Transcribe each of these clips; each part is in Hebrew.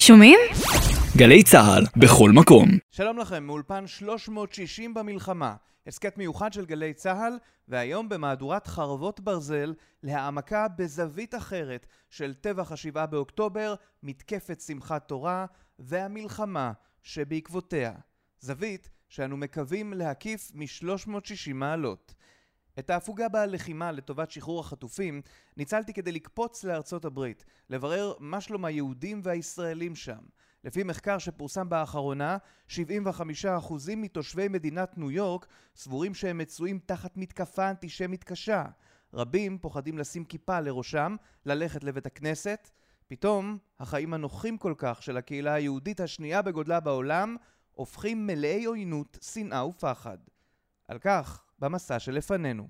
שומעים? גלי צהל, בכל מקום. שלום לכם, מאולפן 360 במלחמה, הסקט מיוחד של גלי צהל, והיום במהדורת חרבות ברזל, להעמקה בזווית אחרת של טבח ה7 באוקטובר, מתקפת שמחת תורה והמלחמה שבעקבותיה. זווית שאנו מקווים להקיף מ-360 מעלות. את ההפוגה בלחימה לטובת שחרור החטופים ניצלתי כדי לקפוץ לארצות הברית, לברר מה שלום היהודים והישראלים שם. לפי מחקר שפורסם באחרונה, 75% מתושבי מדינת ניו יורק סבורים שהם מצויים תחת מתקפה אנטישמית קשה. רבים פוחדים לשים כיפה לראשם, ללכת לבית הכנסת. פתאום, החיים הנוחים כל כך של הקהילה היהודית השנייה בגודלה בעולם, הופכים מלאי עוינות, שנאה ופחד. על כך, במסע שלפנינו.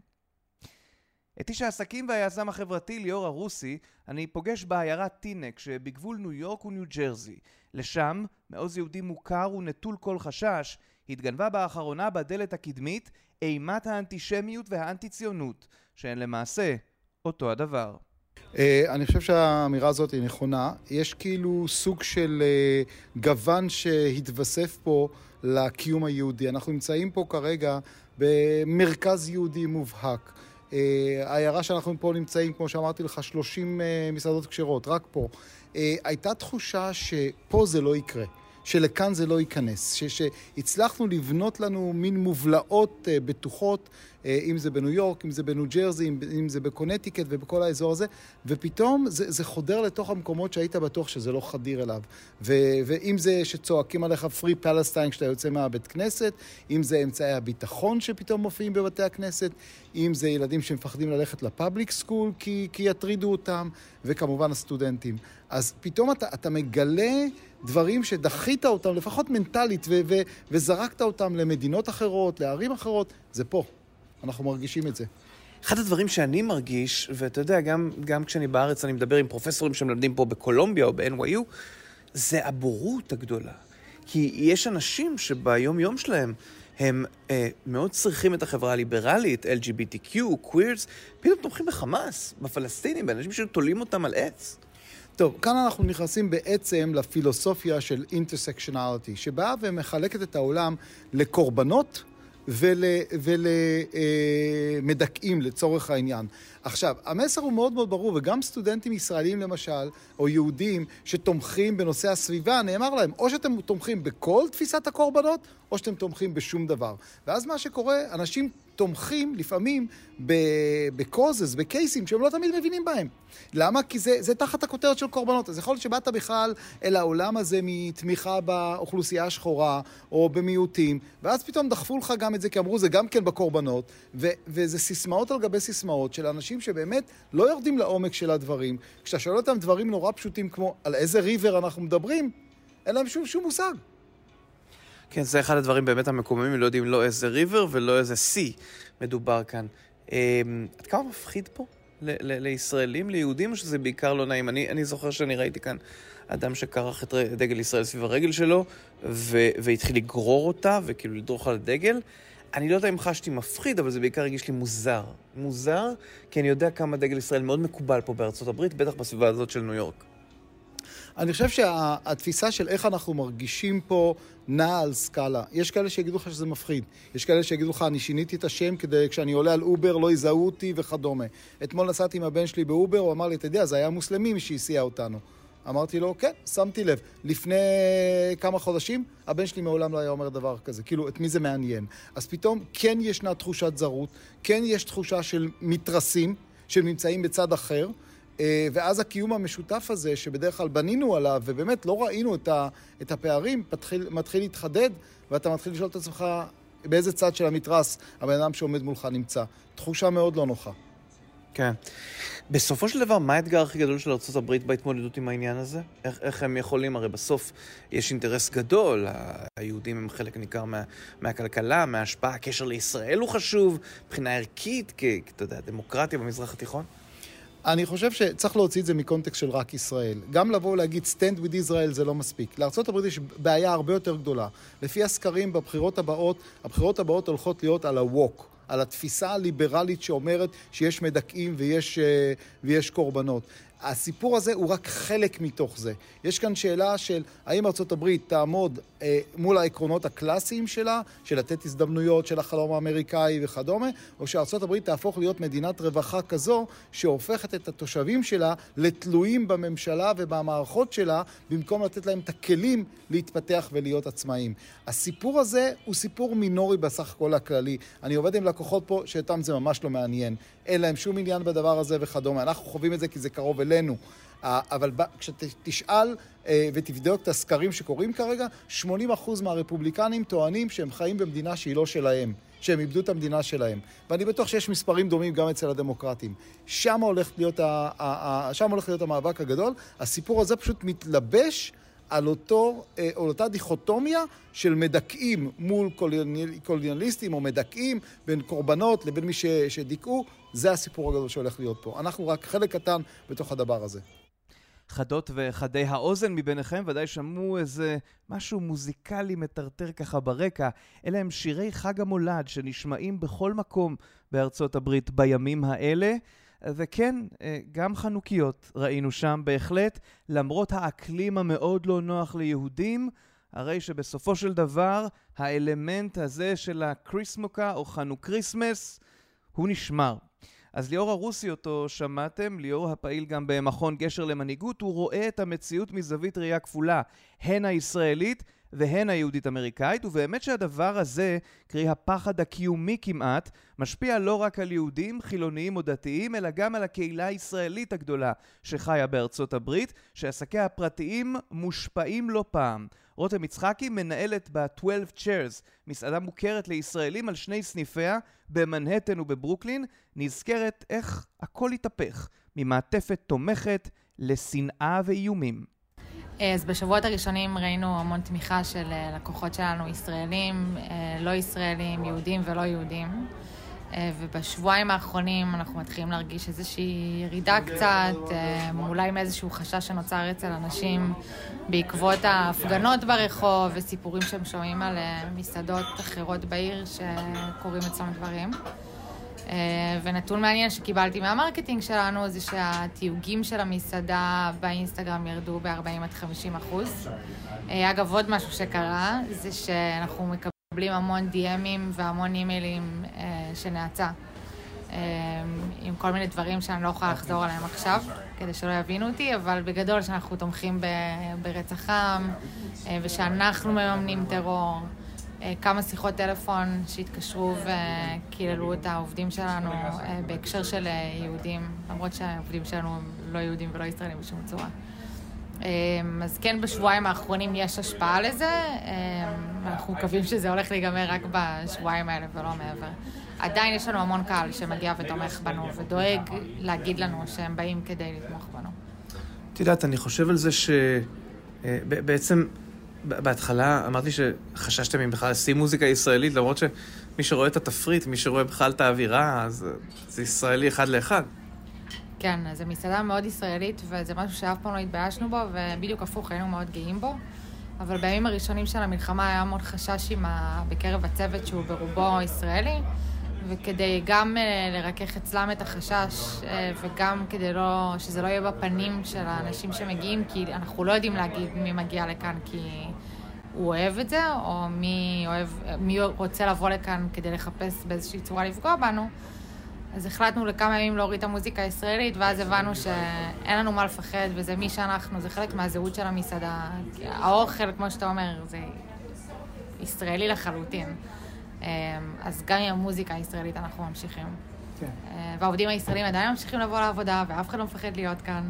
את איש העסקים והיזם החברתי ליאור הרוסי אני פוגש בעיירת טינק שבגבול ניו יורק וניו ג'רזי. לשם, מעוז יהודי מוכר ונטול כל חשש, התגנבה באחרונה בדלת הקדמית אימת האנטישמיות והאנטי-ציונות, שהן למעשה אותו הדבר. אני חושב שהאמירה הזאת היא נכונה. יש כאילו סוג של גוון שהתווסף פה לקיום היהודי. אנחנו נמצאים פה כרגע במרכז יהודי מובהק. העיירה שאנחנו פה נמצאים, כמו שאמרתי לך, 30 מסעדות כשרות, רק פה. הייתה תחושה שפה זה לא יקרה, שלכאן זה לא ייכנס, שהצלחנו לבנות לנו מין מובלעות בטוחות, אם זה בניו יורק, אם זה בניו ג'רזי, אם זה בקונטיקט ובכל האזור הזה, ופתאום זה חודר לתוך המקומות שהיית בטוח שזה לא חדיר אליו. ואם זה שצועקים עליך פרי פלסטיין כשאתה יוצא מהבית כנסת, אם זה אמצעי הביטחון שפתאום מופיעים בבתי הכנסת, אם זה ילדים שמפחדים ללכת לפאבליק סקול כי יטרידו אותם, וכמובן הסטודנטים. אז פתאום אתה מגלה דברים שדחית אותם, לפחות מנטלית, וזרקת אותם למדינות אחרות, לערים אחרות, זה פה. אנחנו מרגישים את זה. אחד הדברים שאני מרגיש, ואתה יודע, גם כשאני בארץ, אני מדבר עם פרופסורים שמלמדים פה בקולומביה או ב-NYU, זה הבורות הגדולה. כי יש אנשים שביום יום שלהם, הם מאוד צריכים את החברה הליברלית, LGBTQ, queers, פתאום תומכים בחמאס, בפלסטינים, באנשים שתולים אותם על עץ. טוב, כאן אנחנו נכנסים בעצם לפילוסופיה של intersectionality, שבאה ומחלקת את העולם לקורבנות ולמדכאים לצורך העניין. עכשיו, המסר הוא מאוד מאוד ברור, וגם סטודנטים ישראלים למשל, או יהודים שתומכים בנושא הסביבה, נאמר להם, או שאתם תומכים בכל תפיסת הקורבנות, או שאתם תומכים בשום דבר. ואז מה שקורה, אנשים תומכים לפעמים בקוזס, בקייסים, שהם לא תמיד מבינים בהם. למה? כי זה תחת הכותרת של קורבנות. אז יכול להיות שבאת בכלל אל העולם הזה מתמיכה באוכלוסייה השחורה, או במיעוטים, ואז פתאום דחפו לך גם את זה, כי אמרו, זה גם כן בקורבנות, וזה סיסמאות על גבי סיסמאות של אנשים שבאמת לא יורדים לעומק של הדברים. כשאתה שואל אותם דברים נורא פשוטים כמו על איזה ריבר אנחנו מדברים, אין להם שום מושג. כן, זה אחד הדברים באמת המקוממים, לא יודעים לא איזה ריבר ולא איזה סי מדובר כאן. עד כמה מפחיד פה לישראלים, ליהודים, או שזה בעיקר לא נעים? אני זוכר שאני ראיתי כאן אדם שקרח את דגל ישראל סביב הרגל שלו, והתחיל לגרור אותה, וכאילו לדרוך על הדגל. אני לא יודע אם חשתי מפחיד, אבל זה בעיקר הרגיש לי מוזר. מוזר, כי אני יודע כמה דגל ישראל מאוד מקובל פה בארצות הברית, בטח בסביבה הזאת של ניו יורק. אני חושב שהתפיסה של איך אנחנו מרגישים פה נעה על סקאלה. יש כאלה שיגידו לך שזה מפחיד. יש כאלה שיגידו לך, אני שיניתי את השם כדי כשאני עולה על אובר לא יזהו אותי וכדומה. אתמול נסעתי עם הבן שלי באובר, הוא אמר לי, אתה יודע, זה היה מוסלמי שהסיע אותנו. אמרתי לו, כן, שמתי לב. לפני כמה חודשים, הבן שלי מעולם לא היה אומר דבר כזה. כאילו, את מי זה מעניין? אז פתאום כן ישנה תחושת זרות, כן יש תחושה של מתרסים, שנמצאים בצד אחר, ואז הקיום המשותף הזה, שבדרך כלל בנינו עליו, ובאמת לא ראינו את הפערים, מתחיל להתחדד, ואתה מתחיל לשאול את עצמך באיזה צד של המתרס הבן אדם שעומד מולך נמצא. תחושה מאוד לא נוחה. כן. בסופו של דבר, מה האתגר הכי גדול של ארצות הברית בהתמודדות עם העניין הזה? איך הם יכולים? הרי בסוף יש אינטרס גדול, היהודים הם חלק ניכר מהכלכלה, מההשפעה, הקשר לישראל הוא חשוב, מבחינה ערכית, אתה יודע, דמוקרטיה במזרח התיכון? אני חושב שצריך להוציא את זה מקונטקסט של רק ישראל. גם לבוא ולהגיד stand with Israel זה לא מספיק. לארצות הברית יש בעיה הרבה יותר גדולה. לפי הסקרים בבחירות הבאות הולכות להיות על ה-walk, על התפיסה הליברלית שאומרת שיש מדכאים ויש קורבנות. הסיפור הזה הוא רק חלק מתוך זה. יש כאן שאלה של האם ארצות הברית תעמוד מול העקרונות הקלאסיים שלה, של לתת הזדמנויות של החלום האמריקאי וכדומה, או שארצות הברית תהפוך להיות מדינת רווחה כזו, שהופכת את התושבים שלה לתלויים בממשלה ובמערכות שלה, במקום לתת להם את הכלים להתפתח ולהיות עצמאיים. הסיפור הזה הוא סיפור מינורי בסך הכל הכללי. אני עובד עם לקוחות פה שאיתם זה ממש לא מעניין. אין להם שום עניין בדבר הזה וכדומה. אנחנו חווים את זה כי זה קרוב אלינו. אבל כשתשאל ותבדוק את הסקרים שקורים כרגע, 80% מהרפובליקנים טוענים שהם חיים במדינה שהיא לא שלהם, שהם איבדו את המדינה שלהם. ואני בטוח שיש מספרים דומים גם אצל הדמוקרטים. שם הולך להיות המאבק הגדול. הסיפור הזה פשוט מתלבש על אותה דיכוטומיה של מדכאים מול קולוניאליסטים, או מדכאים בין קורבנות לבין מי שדיכאו. זה הסיפור הגדול שהולך להיות פה. אנחנו רק חלק קטן בתוך הדבר הזה. חדות וחדי האוזן מביניכם ודאי שמעו איזה משהו מוזיקלי מטרטר ככה ברקע. אלה הם שירי חג המולד שנשמעים בכל מקום בארצות הברית בימים האלה. וכן, גם חנוכיות ראינו שם בהחלט, למרות האקלים המאוד לא נוח ליהודים, הרי שבסופו של דבר האלמנט הזה של הקריסמוקה או חנוכריסמס הוא נשמר. אז ליאור הרוסי אותו שמעתם, ליאור הפעיל גם במכון גשר למנהיגות, הוא רואה את המציאות מזווית ראייה כפולה, הן הישראלית והן היהודית-אמריקאית, ובאמת שהדבר הזה, קרי הפחד הקיומי כמעט, משפיע לא רק על יהודים, חילוניים או דתיים, אלא גם על הקהילה הישראלית הגדולה שחיה בארצות הברית, שעסקיה הפרטיים מושפעים לא פעם. רותם יצחקי מנהלת ב-12 Chairs, מסעדה מוכרת לישראלים על שני סניפיה, במנהטן ובברוקלין, נזכרת איך הכל התהפך, ממעטפת תומכת לשנאה ואיומים. אז בשבועות הראשונים ראינו המון תמיכה של לקוחות שלנו, ישראלים, לא ישראלים, יהודים ולא יהודים. ובשבועיים האחרונים אנחנו מתחילים להרגיש איזושהי ירידה קצת, אולי מאיזשהו חשש שנוצר אצל אנשים בעקבות ההפגנות ברחוב וסיפורים שהם שומעים על מסעדות אחרות בעיר שקוראים אצלם דברים. ונתון מעניין שקיבלתי מהמרקטינג שלנו זה שהתיוגים של המסעדה באינסטגרם ירדו ב-40-50%. אגב, עוד משהו שקרה זה שאנחנו מקבלים המון DM'ים והמון אימיילים שנעצה עם כל מיני דברים שאני לא יכולה לחזור עליהם עכשיו כדי שלא יבינו אותי, אבל בגדול שאנחנו תומכים ברצח עם ושאנחנו מממנים טרור. כמה שיחות טלפון שהתקשרו וקיללו את העובדים שלנו בהקשר של יהודים, למרות שהעובדים שלנו הם לא יהודים ולא ישראלים בשום צורה. אז כן, בשבועיים האחרונים יש השפעה לזה, אנחנו מקווים שזה הולך להיגמר רק בשבועיים האלה ולא מעבר. עדיין יש לנו המון קהל שמגיע ותומך בנו ודואג להגיד לנו שהם באים כדי לתמוך בנו. את יודעת, אני חושב על זה שבעצם בהתחלה אמרתי שחששתם אם בכלל לשים מוזיקה ישראלית, למרות שמי שרואה את התפריט, מי שרואה בכלל את האווירה, אז זה ישראלי אחד לאחד. כן, זו מסעדה מאוד ישראלית, וזה משהו שאף פעם לא התביישנו בו, ובדיוק הפוך, היינו מאוד גאים בו. אבל בימים הראשונים של המלחמה היה מאוד חשש בקרב הצוות שהוא ברובו ישראלי, וכדי גם לרכך אצלם את החשש, וגם כדי שזה לא יהיה בפנים של האנשים שמגיעים, כי אנחנו לא יודעים להגיד מי מגיע לכאן כי הוא אוהב את זה, או מי רוצה לבוא לכאן כדי לחפש באיזושהי צורה לפגוע בנו. אז החלטנו לכמה ימים להוריד את המוזיקה הישראלית, ואז הבנו שאין לנו מה לפחד, וזה מי שאנחנו, זה חלק מהזהות של המסעדה. האוכל, כמו שאתה אומר, זה ישראלי לחלוטין. אז גם עם המוזיקה הישראלית אנחנו ממשיכים. כן. והעובדים הישראלים עדיין ממשיכים לבוא לעבודה, ואף אחד לא מפחד להיות כאן.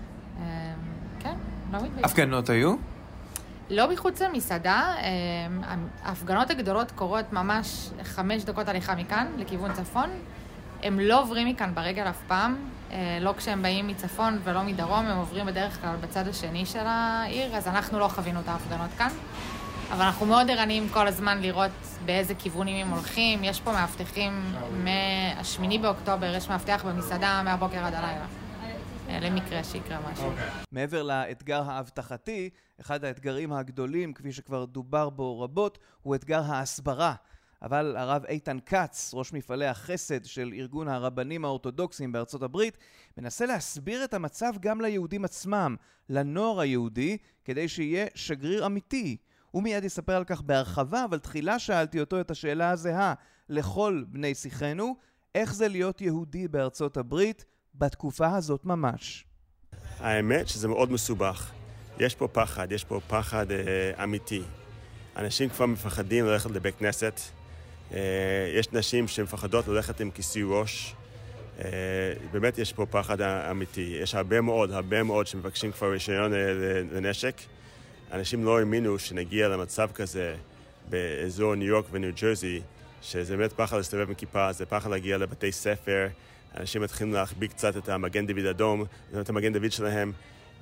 כן, לא מתבייש. הפגנות היו? לא מחוץ למסעדה. ההפגנות הגדולות קורות ממש 5 דקות הליכה מכאן, לכיוון צפון. הם לא עוברים מכאן ברגל אף פעם, לא כשהם באים מצפון ולא מדרום, הם עוברים בדרך כלל בצד השני של העיר, אז אנחנו לא חווינו את ההפגנות כאן. אבל אנחנו מאוד ערניים כל הזמן לראות באיזה כיוונים הם הולכים. יש פה מאבטחים מה-8 באוקטובר, יש מאבטח במסעדה מהבוקר עד הלילה. למקרה שיקרה משהו. מעבר לאתגר האבטחתי, אחד האתגרים הגדולים, כפי שכבר דובר בו רבות, הוא אתגר ההסברה. אבל הרב איתן כץ, ראש מפעלי החסד של ארגון הרבנים האורתודוקסיים בארצות הברית, מנסה להסביר את המצב גם ליהודים עצמם, לנוער היהודי, כדי שיהיה שגריר אמיתי. הוא מיד יספר על כך בהרחבה, אבל תחילה שאלתי אותו את השאלה הזהה לכל בני שיחנו, איך זה להיות יהודי בארצות הברית בתקופה הזאת ממש. האמת שזה מאוד מסובך. יש פה פחד אמיתי. אנשים כבר מפחדים ללכת לבית כנסת. יש נשים שמפחדות ללכת עם כיסוי ראש. באמת יש פה פחד אמיתי. יש הרבה מאוד שמבקשים כבר רישיון לנשק. אנשים לא האמינו שנגיע למצב כזה באזור ניו יורק וניו ג'רזי, שזה באמת פחד להסתובב עם כיפה, זה פחד להגיע לבתי ספר. אנשים מתחילים להחביא קצת את המגן דוד אדום, את המגן דוד שלהם.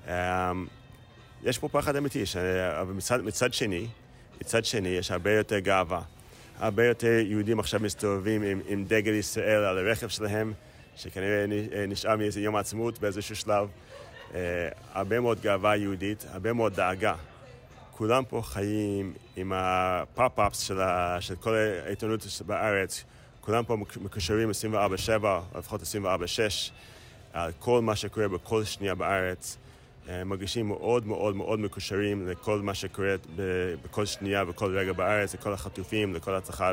יש פה פחד אמיתי, אבל מצד שני יש הרבה יותר גאווה. הרבה יותר יהודים עכשיו מסתובבים עם דגל ישראל על הרכב שלהם, שכנראה נשאר מאיזה יום העצמאות באיזשהו שלב. הרבה מאוד גאווה יהודית, הרבה מאוד דאגה. כולם פה חיים עם הפאפ-אפס של כל העיתונות בארץ. כולם פה מקושרים 24/7, לפחות 24/6, על כל מה שקורה בכל שנייה בארץ. מרגישים מאוד מקושרים לכל מה שקורה בכל שנייה, בכל רגע בארץ, לכל החטופים, לכל הצלחה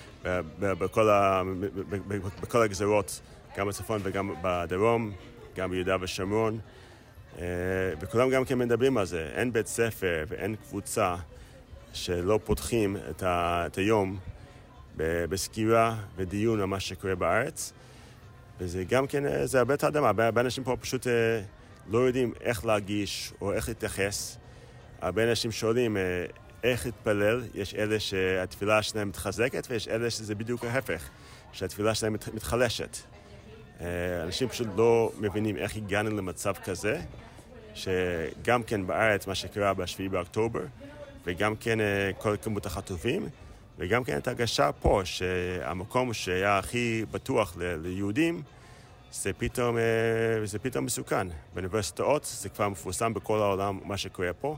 בכל הגזרות, גם בצפון וגם בדרום, גם ביהודה ושומרון. וכולם גם כן מדברים על זה. אין בית ספר ואין קבוצה שלא פותחים את היום בסקירה ודיון על מה שקורה בארץ. וזה גם כן, זה הרבה תאדמה. הרבה אנשים פה פשוט לא יודעים איך להגיש או איך להתייחס. הרבה אנשים שואלים איך להתפלל. יש אלה שהתפילה שלהם מתחזקת ויש אלה שזה בדיוק ההפך, שהתפילה שלהם מתחלשת. אנשים פשוט לא מבינים איך הגענו למצב כזה, שגם כן בארץ מה שקרה ב7 באוקטובר, וגם כן כל כמות החטופים, וגם כן את ההרגשה פה, שהמקום שהיה הכי בטוח ליהודים, זה פתאום מסוכן. באוניברסיטאות זה כבר מפורסם בכל העולם מה שקורה פה.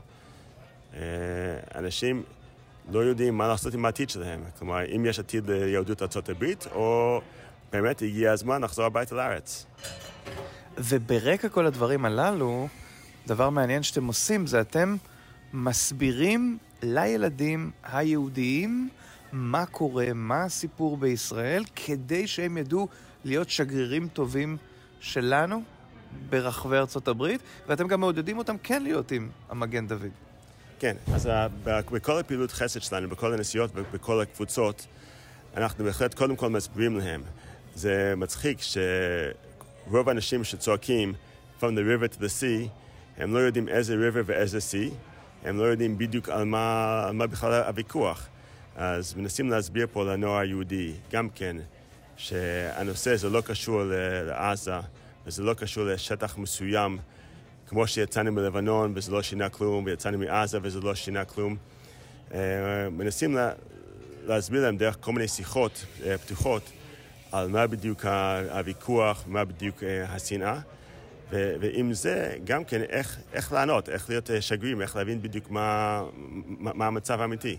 אנשים לא יודעים מה לעשות עם העתיד שלהם. כלומר, אם יש עתיד ליהדות ארצות הברית, או באמת הגיע הזמן לחזור הביתה לארץ. וברקע כל הדברים הללו, דבר מעניין שאתם עושים זה אתם מסבירים לילדים היהודיים מה קורה, מה הסיפור בישראל, כדי שהם ידעו להיות שגרירים טובים שלנו ברחבי ארצות הברית, ואתם גם מעודדים אותם כן להיות עם המגן דוד. כן, אז בכל הפעילות חסד שלנו, בכל הנסיעות ובכל הקבוצות, אנחנו בהחלט קודם כל מסבירים להם. זה מצחיק שרוב האנשים שצועקים from the river to the sea, הם לא יודעים איזה river ואיזה sea, הם לא יודעים בדיוק על מה בכלל הוויכוח. אז מנסים להסביר פה לנוער היהודי, גם כן, שהנושא זה לא קשור לעזה, וזה לא קשור לשטח מסוים, כמו שיצאנו מלבנון וזה לא שינה כלום, ויצאנו מעזה וזה לא שינה כלום. מנסים להסביר להם דרך כל מיני שיחות פתוחות, על מה בדיוק הוויכוח, מה בדיוק השנאה, ועם זה גם כן איך לענות, איך להיות שגרירים, איך להבין בדיוק מה המצב האמיתי.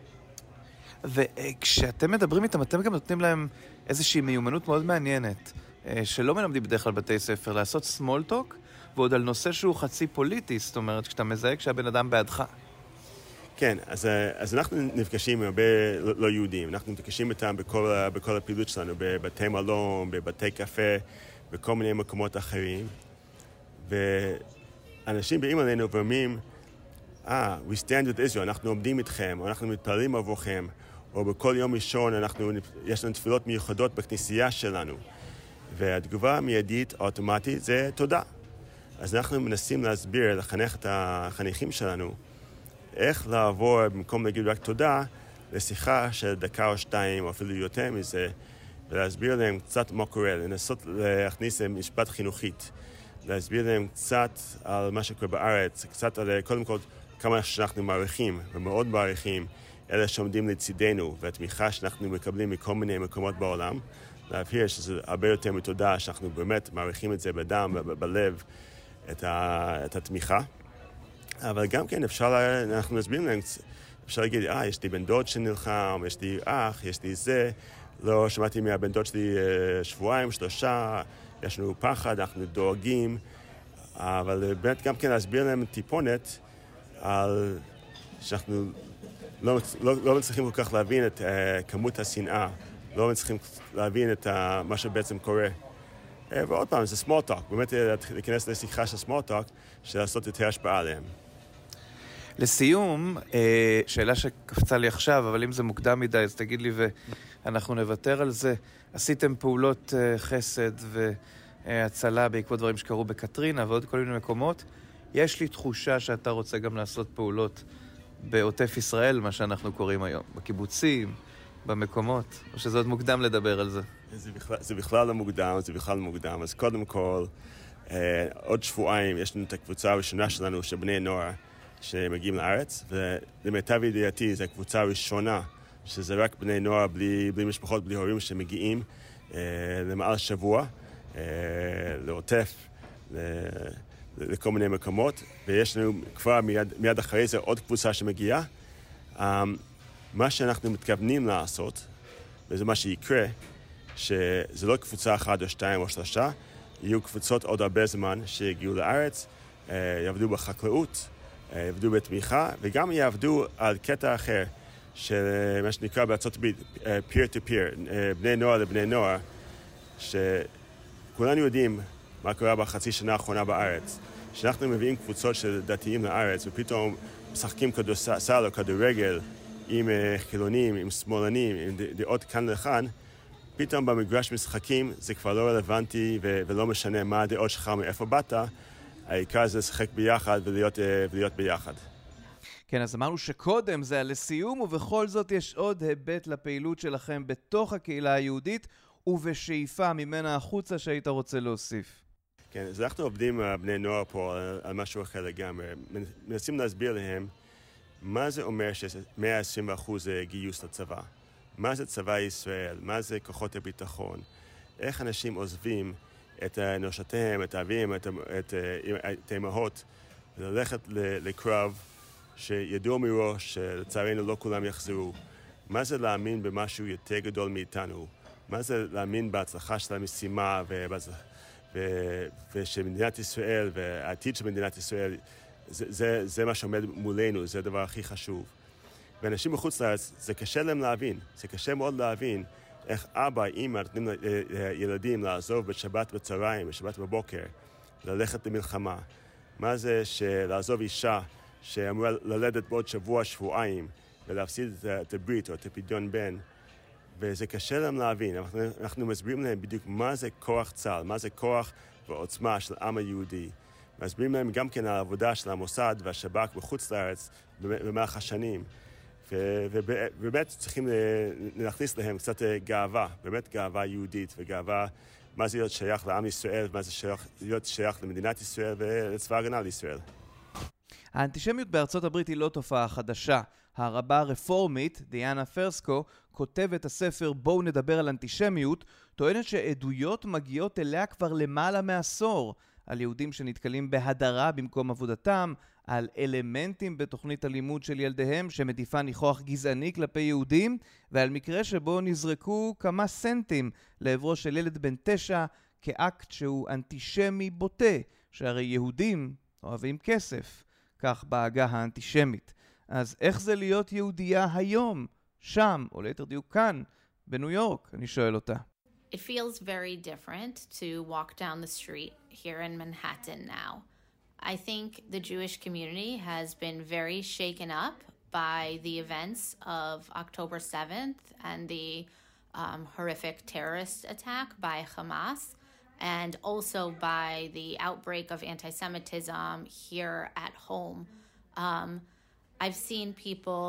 וכשאתם מדברים איתם, אתם גם נותנים להם איזושהי מיומנות מאוד מעניינת, שלא מלמדים בדרך כלל בתי ספר, לעשות small talk, ועוד על נושא שהוא חצי פוליטי, זאת אומרת, כשאתה מזהה כשהבן אדם בעדך. כן, אז אנחנו נפגשים עם הרבה לא יהודים, אנחנו נפגשים איתם בכל הפעילות שלנו, בבתי מלון, בבתי קפה, בכל מיני מקומות אחרים, ואנשים באים עלינו ואומרים, we stand with Israel, אנחנו עומדים איתכם, או אנחנו מתפללים עבורכם, או בכל יום ראשון יש לנו תפילות מיוחדות בכנסייה שלנו, והתגובה המיידית האוטומטית זה תודה. אז אנחנו מנסים להסביר, לחנך את החניכים שלנו, איך לעבור במקום להגיד רק תודה, לשיחה של דקה או שתיים, או אפילו יותר מזה, ולהסביר להם קצת מה קורה, לנסות להכניס להם משפט חינוכית, להסביר להם קצת על מה שקורה בארץ, קצת על קודם כל כמה שאנחנו מעריכים, ומאוד מעריכים, אלה שעומדים לצידנו, והתמיכה שאנחנו מקבלים מכל מיני מקומות בעולם, להבהיר שזה הרבה יותר מתודה, שאנחנו באמת מעריכים את זה בדם, בלב, את התמיכה. אבל גם כן אנחנו מסבירים להם אפשר להגיד, יש לי בן דוד שנלחם, יש לי אח, יש לי זה, לא שמעתי מהבן דוד שלי שבועיים, 3, יש לנו פחד, אנחנו דואגים, אבל באמת גם כן להסביר להם טיפונת על שאנחנו לא מצליחים כל כך להבין את כמות השנאה, לא מצליחים להבין את מה שבעצם קורה. ועוד פעם, זה small talk, באמת להיכנס לשיחה של small talk, של לעשות יותר השפעה עליהם. לסיום, שאלה שקפצה לי עכשיו, אבל אם זה מוקדם מדי, אז תגיד לי ואנחנו נוותר על זה. עשיתם פעולות חסד והצלה בעקבות דברים שקרו בקטרינה ועוד כל מיני מקומות. יש לי תחושה שאתה רוצה גם לעשות פעולות בעוטף ישראל, מה שאנחנו קוראים היום, בקיבוצים, במקומות, או שזה עוד מוקדם לדבר על זה? זה בכלל לא מוקדם, זה בכלל מוקדם. אז קודם כל, עוד שבועיים יש לנו את הקבוצה הראשונה שלנו של בני נוער שמגיעים לארץ, ולמיטב ידיעתי זו הקבוצה הראשונה שזה רק בני נוער בלי משפחות, בלי הורים שמגיעים למעל שבוע, לעוטף, לכל מיני מקומות, ויש לנו כבר מיד אחרי זה עוד קבוצה שמגיעה. מה שאנחנו מתכוונים לעשות, וזה מה שיקרה, שזה לא קבוצה 1 או 2 או 3, יהיו קבוצות עוד הרבה זמן שיגיעו לארץ, יעבדו בחקלאות, יעבדו בתמיכה, וגם יעבדו על קטע אחר, של מה שנקרא בארצות הברית, peer to peer, בני נוער לבני נוער, שכולנו יודעים מה קורה בחצי שנה האחרונה בארץ. שאנחנו מביאים קבוצות של דתיים לארץ, ופתאום משחקים כדורסל או כדורגל עם חילונים, עם שמאלנים, עם דעות כאן לכאן, פתאום במגרש משחקים זה כבר לא רלוונטי ולא משנה מה הדעות שלך, מאיפה באת, העיקר זה לשחק ביחד ולהיות ביחד. כן, אז אמרנו שקודם זה היה לסיום, ובכל זאת יש עוד היבט לפעילות שלכם בתוך הקהילה היהודית, ובשאיפה ממנה החוצה שהיית רוצה להוסיף. כן, אז אנחנו עובדים בני נוער פה על משהו אחר לגמרי. מנסים להסביר להם מה זה אומר ש120% גיוס לצבא. מה זה צבא ישראל? מה זה כוחות הביטחון? איך אנשים עוזבים את נושתיהם, את האבים, את האמהות, ללכת לקרב שידעו מראש שלצערנו לא כולם יחזרו. מה זה להאמין במשהו יותר גדול מאיתנו? מה זה להאמין בהצלחה של המשימה ושמדינת ישראל והעתיד של מדינת ישראל, זה מה שעומד מולנו, זה הדבר הכי חשוב. ואנשים מחוץ לארץ, זה קשה להם להבין, זה קשה מאוד להבין איך אבא, אמא, נותנים לילדים לעזוב בשבת בצהריים, בשבת בבוקר, ללכת למלחמה. מה זה לעזוב אישה שאמורה ללדת בעוד שבוע, שבועיים, ולהפסיד את הברית או את הפדיון בן, וזה קשה להם להבין. אנחנו מסבירים להם בדיוק מה זה כוח צה"ל, מה זה כוח ועוצמה של העם היהודי. מסבירים להם גם כן על העבודה של המוסד והשב"כ בחוץ לארץ במהלך השנים. ובאמת צריכים להכניס להם קצת גאווה, באמת גאווה יהודית וגאווה מה זה להיות שייך לעם ישראל, מה זה להיות שייך למדינת ישראל ולצבא ההגנה לישראל. האנטישמיות בארצות הברית היא לא תופעה חדשה. הרבה הרפורמית, דיאנה פרסקו, כותבת הספר בואו נדבר על אנטישמיות, טוענת שעדויות מגיעות אליה כבר למעלה מעשור, על יהודים שנתקלים בהדרה במקום עבודתם, על אלמנטים בתוכנית הלימוד של ילדיהם שמדיפה ניחוח גזעני כלפי יהודים, ועל מקרה שבו נזרקו כמה סנטים לעברו של ילד בן 9 כאקט שהוא אנטישמי בוטה, שהרי יהודים אוהבים כסף, כך בעגה האנטישמית. אז איך זה להיות יהודייה היום, שם, או ליתר דיוק כאן, בניו יורק? אני שואל אותה. It feels very different to walk down the street here in Manhattan now. I think the Jewish community has been very shaken up by the events of October 7th and the horrific terrorist attack by Hamas, and also by the outbreak of anti-Semitism here at home. I've seen people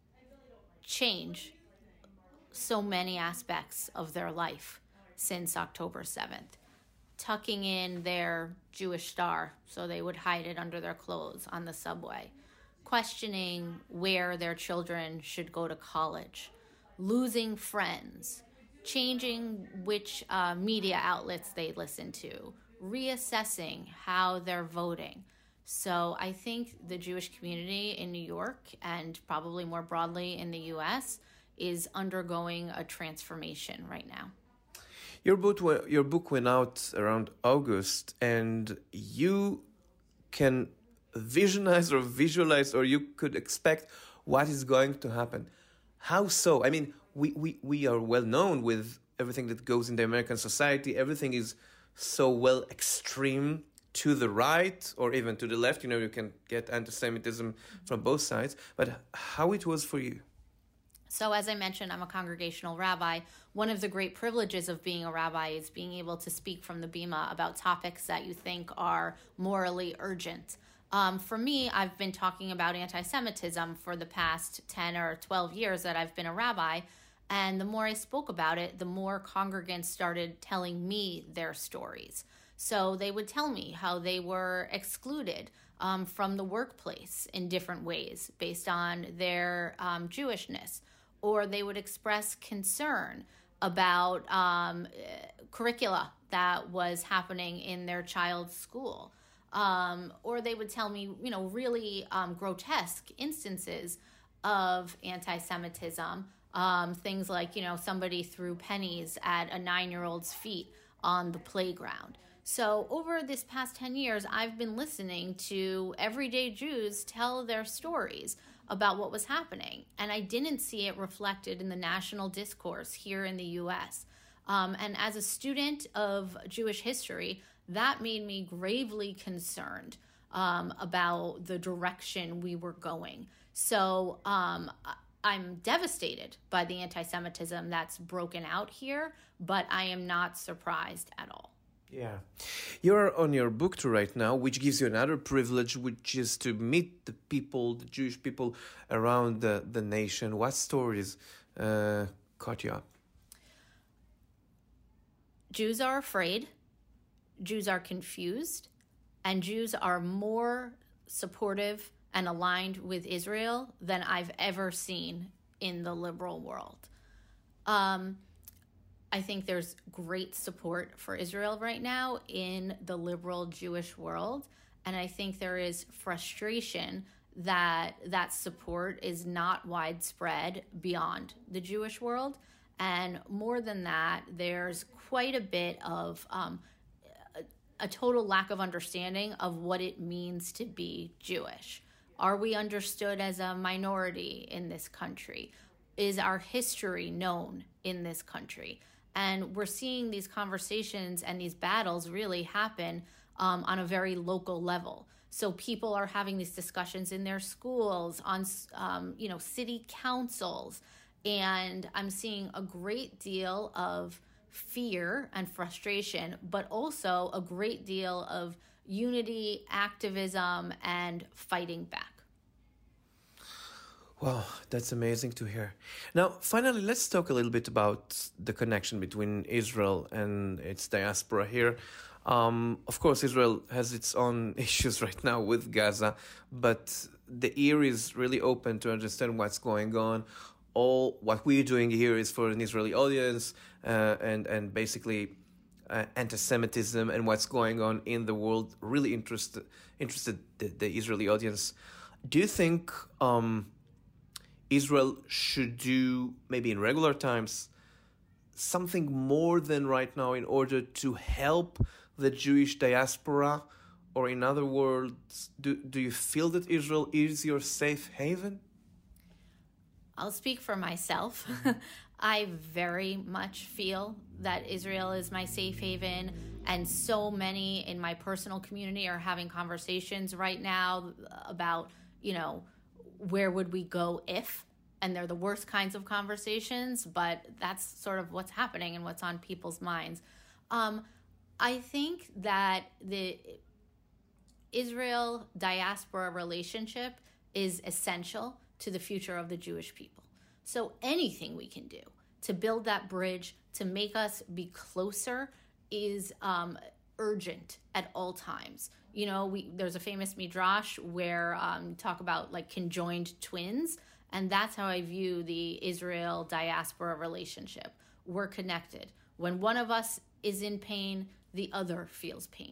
change so many aspects of their life since October 7th. Tucking in their Jewish star so they would hide it under their clothes on the subway. Questioning where their children should go to college. Losing friends. Changing which media outlets they listen to. Reassessing how they're voting. So I think the Jewish community in New York and probably more broadly in the US is undergoing a transformation right now. Your book went out around August, and you can visualize, or you could expect what is going to happen. How so? I mean, we are well known with everything that goes in the American society. Everything is so well extreme to the right or even to the left. You can get anti-Semitism from both sides. But how it was for you? So as I mentioned, I'm a congregational rabbi. One of the great privileges of being a rabbi is being able to speak from the bima about topics that you think are morally urgent. For me, I've been talking about anti-Semitism for the past 10 or 12 years that I've been a rabbi. And the more I spoke about it, the more congregants started telling me their stories. So they would tell me how they were excluded from the workplace in different ways based on their Jewishness. Or they would express concern about curricula that was happening in their child's school. Or they would tell me, really grotesque instances of anti-Semitism, things like, somebody threw pennies at a 9-year-old's feet on the playground. So over this past 10 years, I've been listening to everyday Jews tell their stories about what was happening. And I didn't see it reflected in the national discourse here in the U.S. And as a student of Jewish history, that made me gravely concerned about the direction we were going. So I'm devastated by the anti-Semitism that's broken out here, but I am not surprised at all. Yeah. You're on your book tour right now, which gives you another privilege, which is to meet the people, the Jewish people around the nation. What stories caught you up? Jews are afraid, Jews are confused, and Jews are more supportive and aligned with Israel than I've ever seen in the liberal world. I think there's great support for Israel right now in the liberal Jewish world. And I think there is frustration that that support is not widespread beyond the Jewish world. And more than that, there's quite a bit of a total lack of understanding of what it means to be Jewish. Are we understood as a minority in this country? Is our history known in this country? And we're seeing these conversations and these battles really happen on a very local level. So people are having these discussions in their schools, on city councils, and I'm seeing a great deal of fear and frustration, but also a great deal of unity, activism, and fighting back. Wow, that's amazing to hear. Now, finally, let's talk a little bit about the connection between Israel and its diaspora here. Of course, Israel has its own issues right now with Gaza, but the ear is really open to understand what's going on. All what we're doing here is for an Israeli audience, and basically anti-Semitism and what's going on in the world really interested the Israeli audience. Do you think Israel should do, maybe in regular times, something more than right now in order to help the Jewish diaspora? Or in other words, do you feel that Israel is your safe haven? I'll speak for myself. I very much feel that Israel is my safe haven, and so many in my personal community are having conversations right now about, where would we go if? And they're the worst kinds of conversations, but that's sort of what's happening and what's on people's minds. I think that the Israel diaspora relationship is essential to the future of the Jewish people. So anything we can do to build that bridge, to make us be closer, is urgent at all times. There's a famous midrash where talk about like conjoined twins, and that's how I view the Israel diaspora relationship. We're connected. When one of us is in pain, the other feels pain.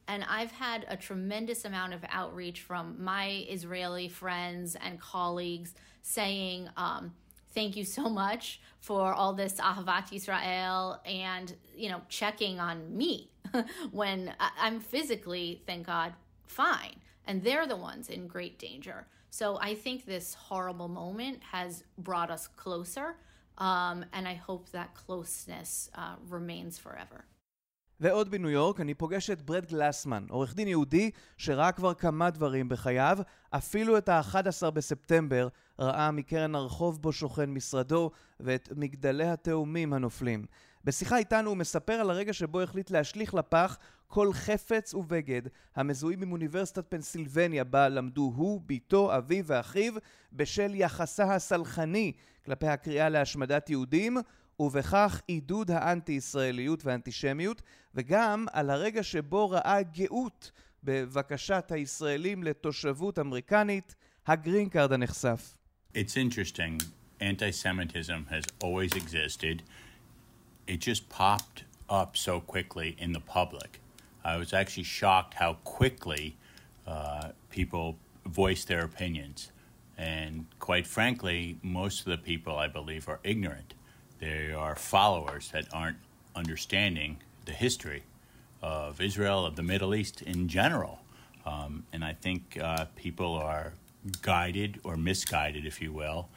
And I've had a tremendous amount of outreach from my Israeli friends and colleagues saying, thank you so much for all this Ahavat Yisrael and, checking on me when I'm physically, thank God, fine. And they're the ones in great danger. So I think this horrible moment has brought us closer, and I hope that closeness remains forever. ועוד בניו יורק אני פוגש את ברד גלסמן, עורך דין יהודי שראה כבר כמה דברים בחייו, אפילו את ה-11 בספטמבר ראה מקרן הרחוב בו שוכן משרדו ואת מגדלי התאומים הנופלים. בשיחה איתנו הוא מספר על הרגע שבו החליט להשליך לפח כל חפץ ובגד המזוהים עם אוניברסיטת פנסילבניה בה למדו הוא, ביתו, אביו ואחיו בשל יחסה הסלחני כלפי הקריאה להשמדת יהודים ובכך עידוד האנטי-ישראליות והאנטישמיות, וגם על הרגע שבו ראה גאות בבקשת הישראלים לתושבות אמריקנית, הגרין קארד הנחשף. It's interesting. Anti-Semitism has always existed. It just popped up so quickly in the public. I was actually shocked how quickly people voiced their opinions. And quite frankly, most of the people, I believe, are ignorant. They are followers that aren't understanding the history of Israel, of the Middle East in general. And I think people are guided or misguided, if you will,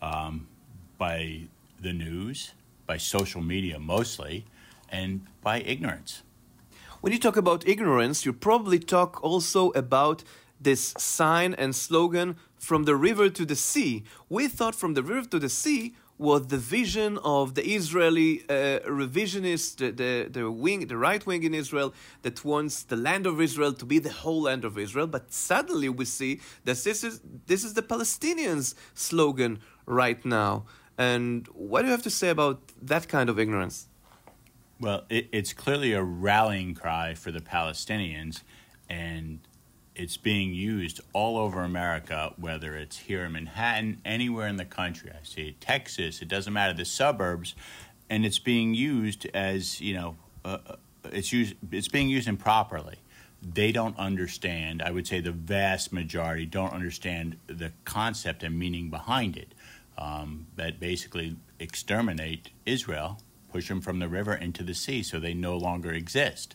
by the news, by social media mostly, and by ignorance. When you talk about ignorance, you probably talk also about this sign and slogan, from the river to the sea. We thought from the river to the sea was the vision of the Israeli revisionists, the right wing in Israel that wants the land of Israel to be the whole land of Israel. But suddenly we see that this is the Palestinians' slogan right now. And what do you have to say about that kind of ignorance? Well, it's clearly a rallying cry for the Palestinians, and it's being used all over America, whether it's here in Manhattan, anywhere in the country. I see it, Texas, it doesn't matter, the suburbs, and it's being used as, it's being used improperly. They don't understand, I would say the vast majority don't understand the concept and meaning behind it, that basically exterminate Israel, push them from the river into the sea so they no longer exist.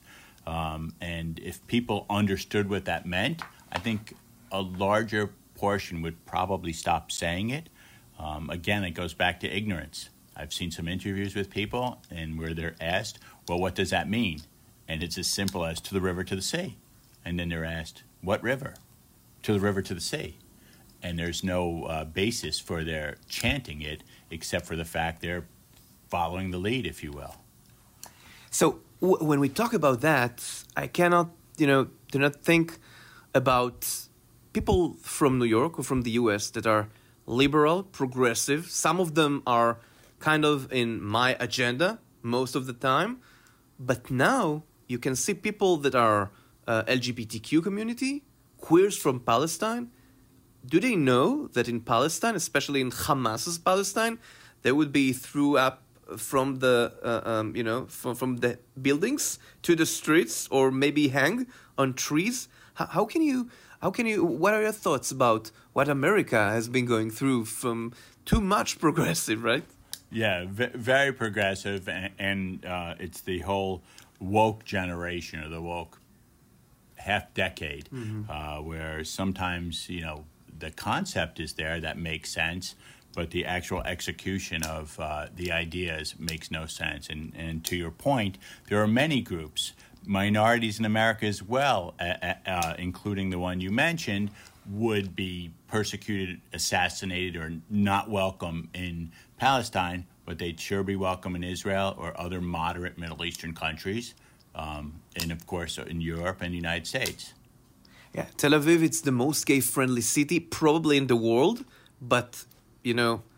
And if people understood what that meant, I think a larger portion would probably stop saying it. Again, it goes back to ignorance. I've seen some interviews with people and where they're asked, well, what does that mean? And it's as simple as to the river, to the sea. And then they're asked, what river? To the river, to the sea. And there's no basis for their chanting it except for the fact they're following the lead, if you will. So when we talk about that, I cannot, do not think about people from New York or from the U.S. that are liberal, progressive. Some of them are kind of in my agenda most of the time. But now you can see people that are LGBTQ community, queers from Palestine. Do they know that in Palestine, especially in Hamas's Palestine, they would be threw up from the from the buildings to the streets, or maybe hang on trees? How can you what are your thoughts about what America has been going through from too much progressive, right? Yeah, very progressive, and it's the whole woke generation, or the woke half decade, where sometimes the concept is there that makes sense, but the actual execution of the ideas makes no sense. And to your point, there are many groups, minorities in America as well, including the one you mentioned, would be persecuted, assassinated, or not welcome in Palestine, but they'd sure be welcome in Israel or other moderate Middle Eastern countries, and of course in Europe and the United States. Yeah, Tel Aviv, it's the most gay-friendly city probably in the world, but in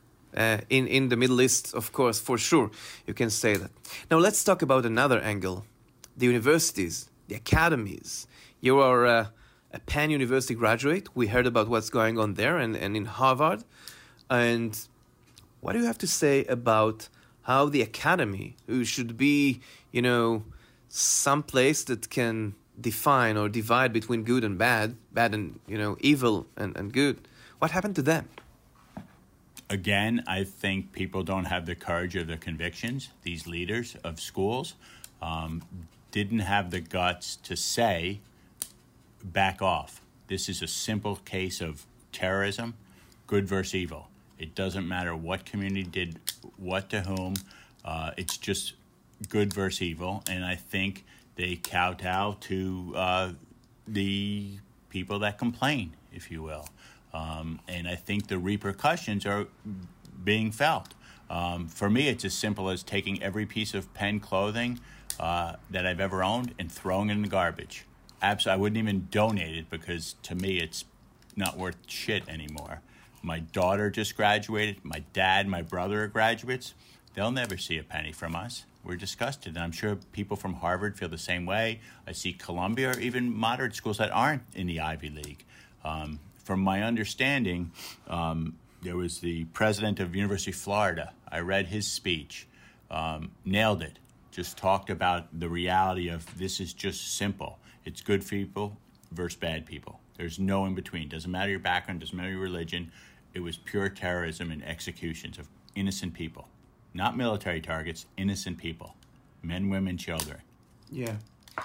the Middle East, of course, for sure, you can say that. Now let's talk about another angle. The universities, the academies. You are a Penn University graduate. We heard about what's going on there and in Harvard. And what do you have to say about how the academy, who should be, some place that can define or divide between good and bad and, evil and good. What happened to them? Again, I think people don't have the courage of their convictions. These leaders of schools didn't have the guts to say, back off. This is a simple case of terrorism, good versus evil. It doesn't matter what community did what to whom. It's just good versus evil. And I think they kowtow to the people that complain, if you will. And I think the repercussions are being felt. For me, it's as simple as taking every piece of Penn clothing that I've ever owned and throwing it in the garbage. I wouldn't even donate it because to me it's not worth shit anymore. My daughter just graduated. My dad, my brother are graduates. They'll never see a penny from us. We're disgusted. And I'm sure people from Harvard feel the same way. I see Columbia or even moderate schools that aren't in the Ivy League. From my understanding, there was the president of University of Florida. I read his speech, nailed it, just talked about the reality of this is just simple. It's good people versus bad people. There's no in between. Doesn't matter your background, doesn't matter your religion. It was pure terrorism and executions of innocent people. Not military targets, innocent people. Men, women, children. Yeah.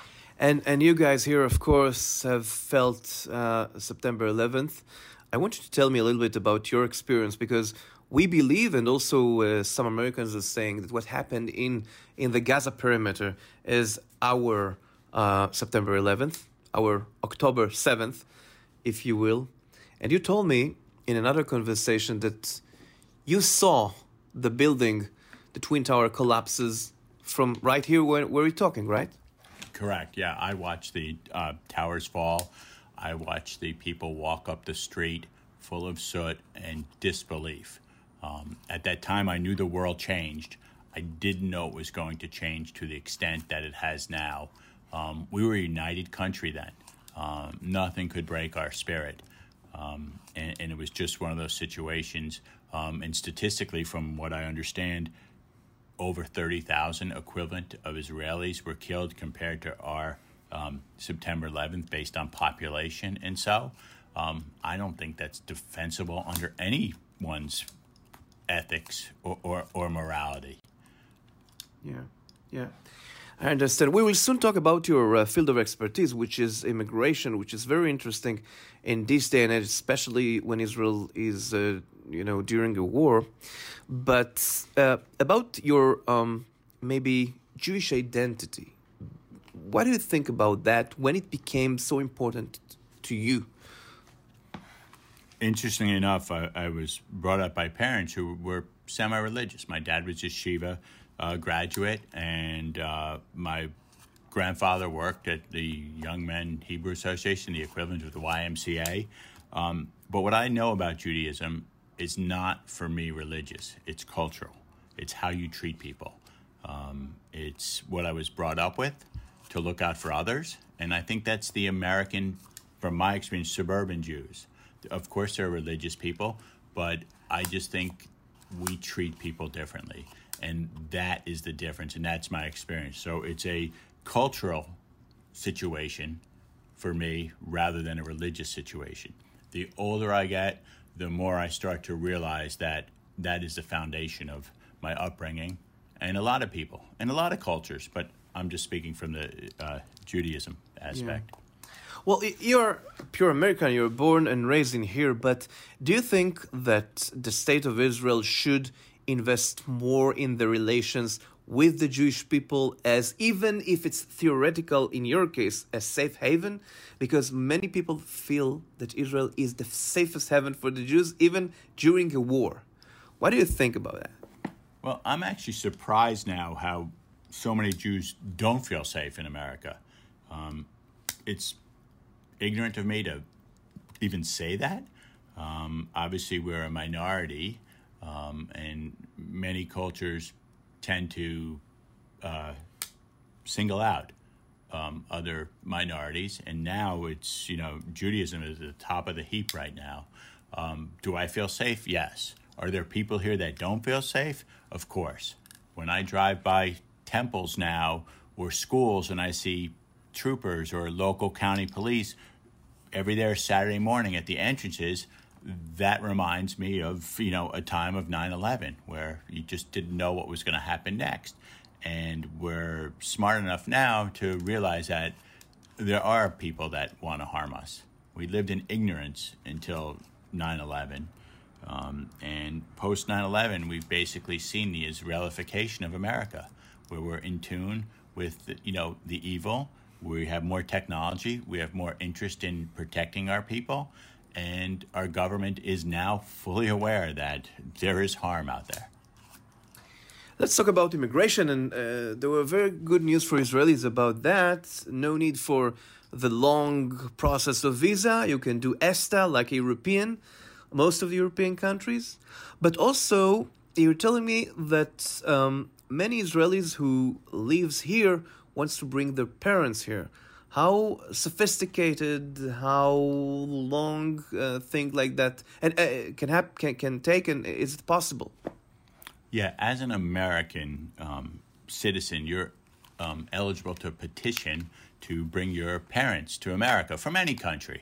And you guys here, of course, have felt September 11th. I want you to tell me a little bit about your experience, because we believe, and also some Americans are saying, that what happened in the Gaza perimeter is our September 11th, our October 7th, if you will. And you told me in another conversation that you saw the building, the Twin Tower collapses from right here where we're talking, right? Correct. Yeah, I watched the towers fall. I watched the people walk up the street full of soot and disbelief. At that time, I knew the world changed. I didn't know it was going to change to the extent that it has now. We were a united country then. Nothing could break our spirit. And it was just one of those situations. And statistically, from what I understand, over 30,000 equivalent of Israelis were killed compared to our September 11th based on population. And so I don't think that's defensible under anyone's ethics or morality. Yeah. I understand. We will soon talk about your field of expertise, which is immigration, which is very interesting in this day and age, especially when Israel is, during a war. But about your maybe Jewish identity, what do you think about that when it became so important to you? Interestingly enough, I was brought up by parents who were semi-religious. My dad was a Yeshiva graduate, and my grandfather worked at the Young Men Hebrew Association, the equivalent of the YMCA. But what I know about Judaism is not, for me, religious. It's cultural. It's how you treat people. It's what I was brought up with, to look out for others. And I think that's the American, from my experience, suburban Jews. Of course, they're religious people, but I just think we treat people differently. And that is the difference, and that's my experience. So it's a cultural situation for me rather than a religious situation. The older I get, the more I start to realize that that is the foundation of my upbringing and a lot of people and a lot of cultures, but I'm just speaking from the Judaism aspect. Yeah. Well, you're pure American, you're born and raised in here, but do you think that the state of Israel should invest more in the relations with the Jewish people, as even if it's theoretical, in your case, a safe haven? Because many people feel that Israel is the safest haven for the Jews, even during a war. What do you think about that? Well, I'm actually surprised now how so many Jews don't feel safe in America. It's ignorant of me to even say that. Obviously, we're a minority, and many cultures tend to single out other minorities. And now it's, Judaism is at the top of the heap right now. Do I feel safe? Yes. Are there people here that don't feel safe? Of course. When I drive by temples now or schools and I see troopers or local county police every there Saturday morning at the entrances, that reminds me of, a time of 9/11 where you just didn't know what was going to happen next. And we're smart enough now to realize that there are people that want to harm us. We lived in ignorance until 9/11. And post 9/11, we've basically seen the Israelification of America, where we're in tune with, the evil. We have more technology. We have more interest in protecting our people. And our government is now fully aware that there is harm out there. Let's talk about immigration, and there were very good news for Israelis about that. No need for the long process of visa. You can do ESTA like a European, most of the European countries. But also, you're telling me that many Israelis who lives here wants to bring their parents here. How sophisticated, how long thing like that and can take, and is it possible? Yeah, as an American citizen, you're eligible to petition to bring your parents to America from any country.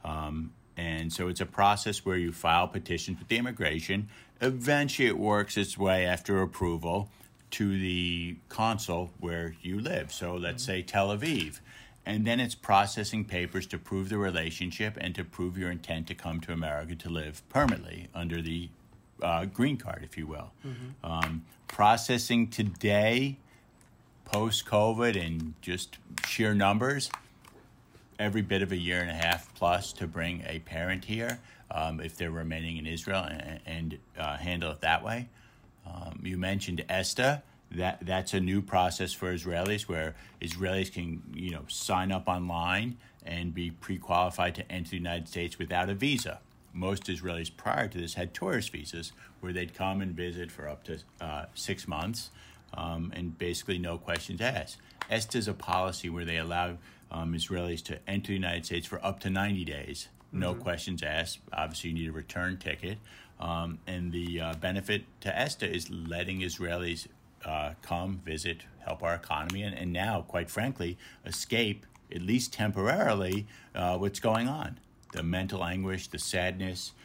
And so it's a process where you file petitions with the immigration. Eventually it works its way after approval to the consul where you live. So let's say Tel Aviv. And then it's processing papers to prove the relationship and to prove your intent to come to America to live permanently under the green card, if you will. Processing today, post-COVID, and just sheer numbers, every bit of a year and a half plus to bring a parent here if they're remaining in Israel and handle it that way. You mentioned ESTA. That's a new process for Israelis where Israelis can, sign up online and be pre-qualified to enter the United States without a visa. Most Israelis prior to this had tourist visas where they'd come and visit for up to 6 months and basically no questions asked. ESTA is a policy where they allow Israelis to enter the United States for up to 90 days, no questions asked. Obviously, you need a return ticket. And the benefit to ESTA is letting Israelis come, visit, help our economy, and now, quite frankly, escape, at least temporarily, what's going on. The mental anguish, the sadness,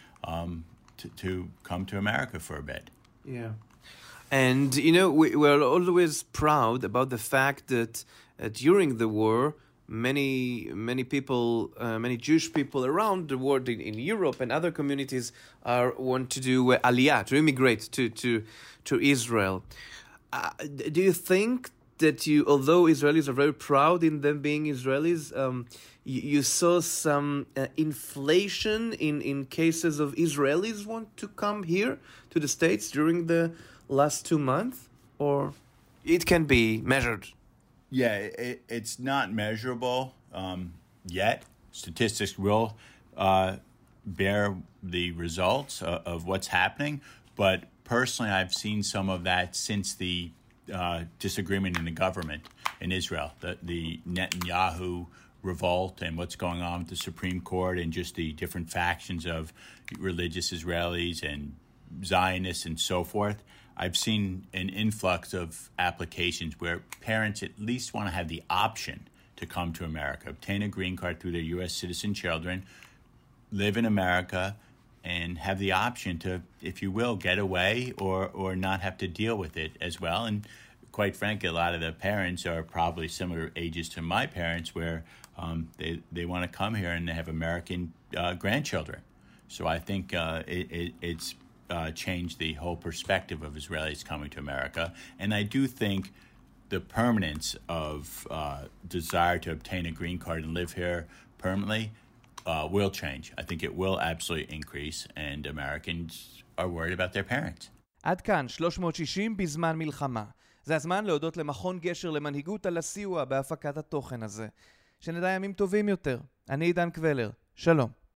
to come to America for a bit. Yeah. And, we're always proud about the fact that during the war, many people, many Jewish people around the world in Europe and other communities want to do aliyah, to immigrate to Israel. Do you think that although Israelis are very proud in them being Israelis, you saw some inflation in cases of Israelis want to come here to the States during the last 2 months? Or it can be measured? Yeah, it's not measurable yet. Statistics will bear the results of what's happening. But personally, I've seen some of that since the disagreement in the government in Israel, the Netanyahu revolt and what's going on with the Supreme Court and just the different factions of religious Israelis and Zionists and so forth. I've seen an influx of applications where parents at least want to have the option to come to America, obtain a green card through their U.S. citizen children, live in America, and have the option to, if you will, get away or not have to deal with it as well. And quite frankly, a lot of the parents are probably similar ages to my parents where they want to come here and they have American grandchildren. So I think it's changed the whole perspective of Israelis coming to America. And I do think the permanence of desire to obtain a green card and live here permanently will change. I think it will absolutely increase, and Americans are worried about their parents. עד כאן 360 בזמן מלחמה. זה הזמן להודות למכון גשר למנהיגות על הסיוע בהפקת התוכן הזה. שנדע ימים טובים יותר. אני עידן קבלר. שלום.